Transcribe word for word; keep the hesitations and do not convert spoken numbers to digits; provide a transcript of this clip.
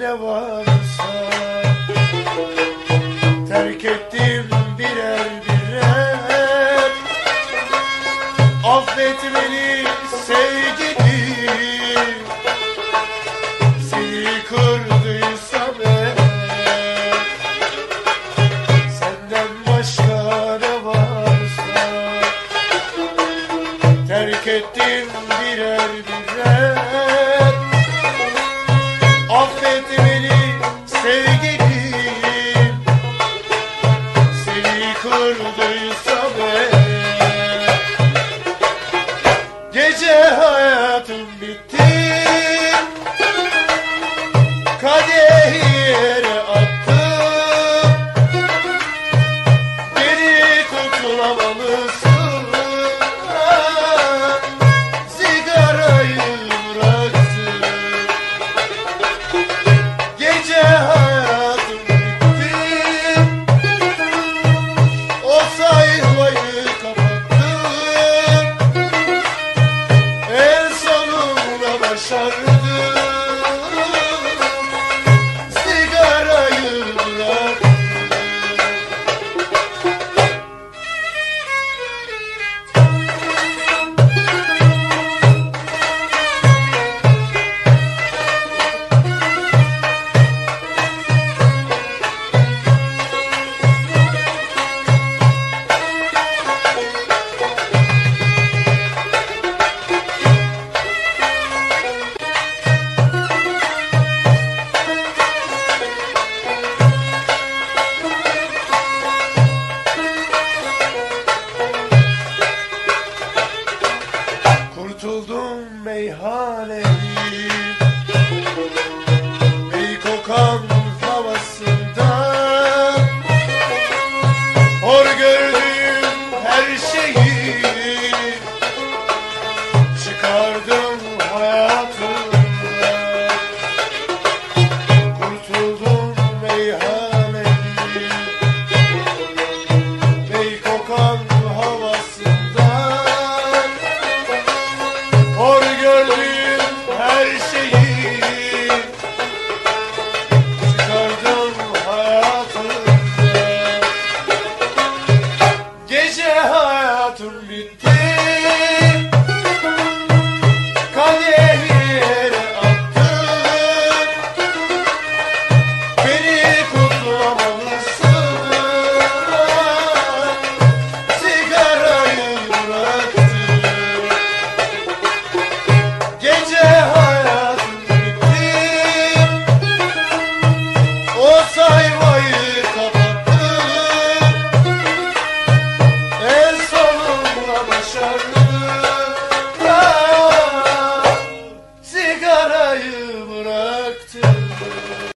ne varsa terk ettim birer birer. Affet beni sevgilim, seni kırdıysam eğer. Senden başka ne varsa terk ettim birer birer. Affet beni sevgilim, seni kırdıysam eğer. Gece hayatım bitti, kadehi yere attım. Beni kurtulamalısın, sigarayı bıraktım. Gece hayatım bitti, o sayfayı kapattım. En sonunda başardım, sigarayı bıraktım. Kurtuldum meyhaneli, ey kokan